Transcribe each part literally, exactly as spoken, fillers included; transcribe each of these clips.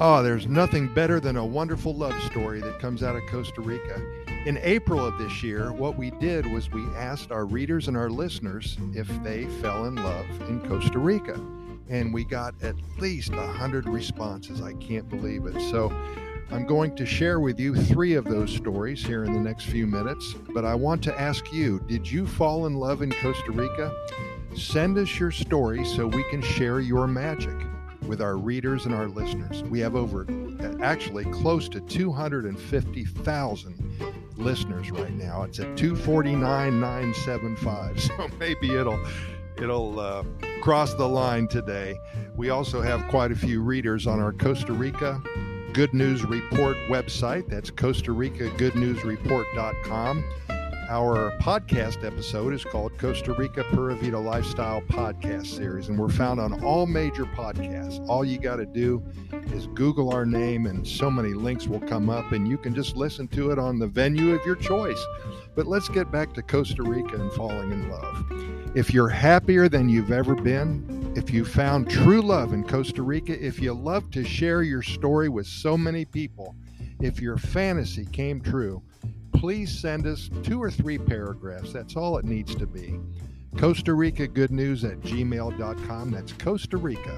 Oh, there's nothing better than a wonderful love story that comes out of Costa Rica. In April of this year, what we did was we asked our readers and our listeners if they fell in love in Costa Rica. And we got at least one hundred responses. I can't believe it. So I'm going to share with you three of those stories here in the next few minutes. But I want to ask you, did you fall in love in Costa Rica? Send us your story so we can share your magic with our readers and our listeners. We have over, actually close to two hundred fifty thousand listeners right now. It's at two forty-nine nine seventy-five, so maybe it'll it'll uh, cross the line today. We also have quite a few readers on our Costa Rica Good News Report website. That's Costa Rica Good News Report dot com. Our podcast episode is called Costa Rica Pura Vida Lifestyle Podcast Series, and we're found on all major podcasts. All you got to do is Google our name, and so many links will come up, and you can just listen to it on the venue of your choice. But let's get back to Costa Rica and falling in love. If you're happier than you've ever been, if you found true love in Costa Rica, if you love to share your story with so many people, if your fantasy came true, please send us two or three paragraphs. That's all it needs to be. Costa Rica Good News at gmail dot com. That's Costa Rica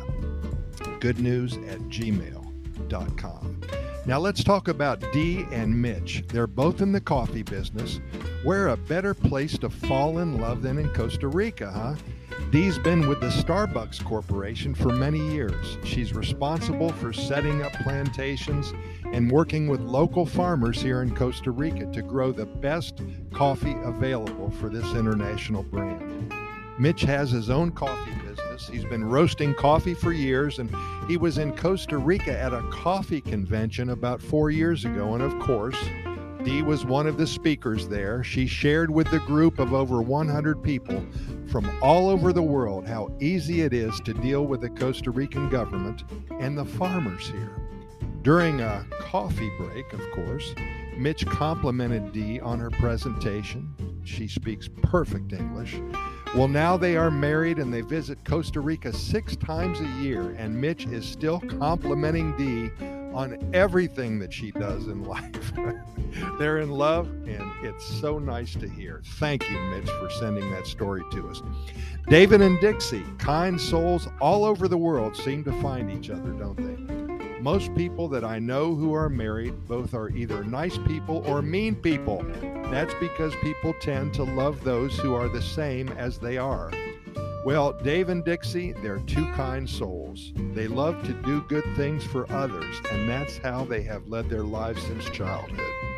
Good News at gmail dot com. Now let's talk about Dee and Mitch. They're both in the coffee business. Where a better place to fall in love than in Costa Rica, huh? Dee's been with the Starbucks Corporation for many years. She's responsible for setting up plantations and working with local farmers here in Costa Rica to grow the best coffee available for this international brand. Mitch has his own coffee business. He's been roasting coffee for years, and he was in Costa Rica at a coffee convention about four years ago. And of course, Dee was one of the speakers there. She shared with the group of over one hundred people from all over the world how easy it is to deal with the Costa Rican government and the farmers here. During a coffee break, of course, Mitch complimented Dee on her presentation. She speaks perfect English. Well, now they are married and they visit Costa Rica six times a year, and Mitch is still complimenting Dee on everything that she does in life. They're in love, and it's so nice to hear. Thank you, Mitch, for sending that story to us. David and Dixie, kind souls all over the world, seem to find each other, don't they? Most people that I know who are married both are either nice people or mean people. That's because people tend to love those who are the same as they are. Well, Dave and Dixie, they're two kind souls. They love to do good things for others, and that's how they have led their lives since childhood.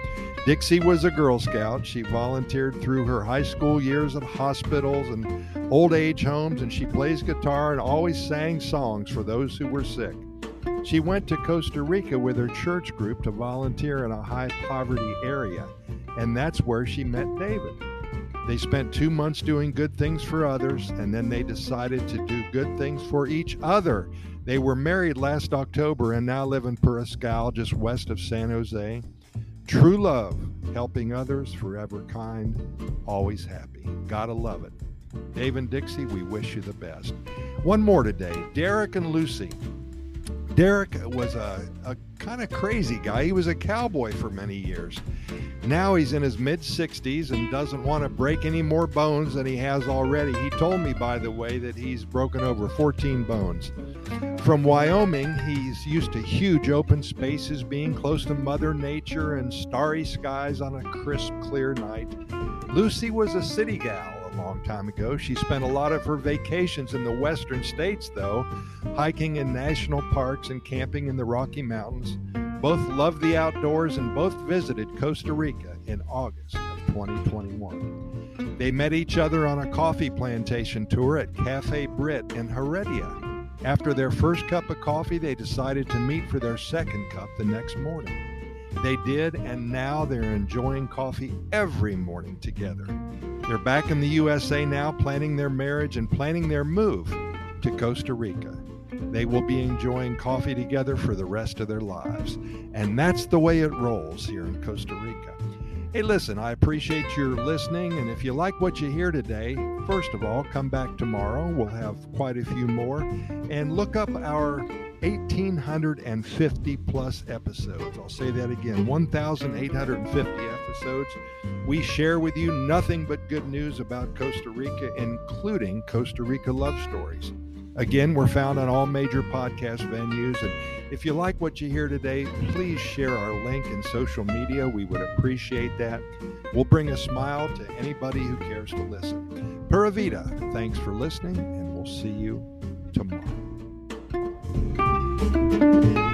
Dixie was a Girl Scout. She volunteered through her high school years at hospitals and old age homes, and she plays guitar and always sang songs for those who were sick. She went to Costa Rica with her church group to volunteer in a high poverty area, and that's where she met David. They spent two months doing good things for others, and then they decided to do good things for each other. They were married last October and now live in Puriscal, just west of San Jose. True love, helping others, forever kind, always happy. Gotta love it. Dave and Dixie, we wish you the best. One more today, Derek and Lucy. Derek was a, a kind of crazy guy. He was a cowboy for many years. Now he's in his mid-sixties and doesn't want to break any more bones than he has already. He told me, by the way, that he's broken over fourteen bones. From Wyoming, he's used to huge open spaces, being close to Mother Nature and starry skies on a crisp, clear night. Lucy was a city gal a long time ago. She spent a lot of her vacations in the western states, though, hiking in national parks and camping in the Rocky Mountains. Both loved the outdoors and both visited Costa Rica in August of twenty twenty-one. They met each other on a coffee plantation tour at Cafe Brit in Heredia. After their first cup of coffee, they decided to meet for their second cup the next morning. They did, and now they're enjoying coffee every morning together. They're back in the U S A now, planning their marriage and planning their move to Costa Rica. They will be enjoying coffee together for the rest of their lives. And that's the way it rolls here in Costa Rica. Hey, listen, I appreciate your listening. And if you like what you hear today, first of all, come back tomorrow. We'll have quite a few more. And look up our one thousand eight hundred fifty plus episodes. I'll say that again, one thousand eight hundred fifty episodes. We share with you nothing but good news about Costa Rica, including Costa Rica love stories. Again, we're found on all major podcast venues. And if you like what you hear today, please share our link in social media. We would appreciate that. We'll bring a smile to anybody who cares to listen. Pura Vida, thanks for listening, and we'll see you tomorrow.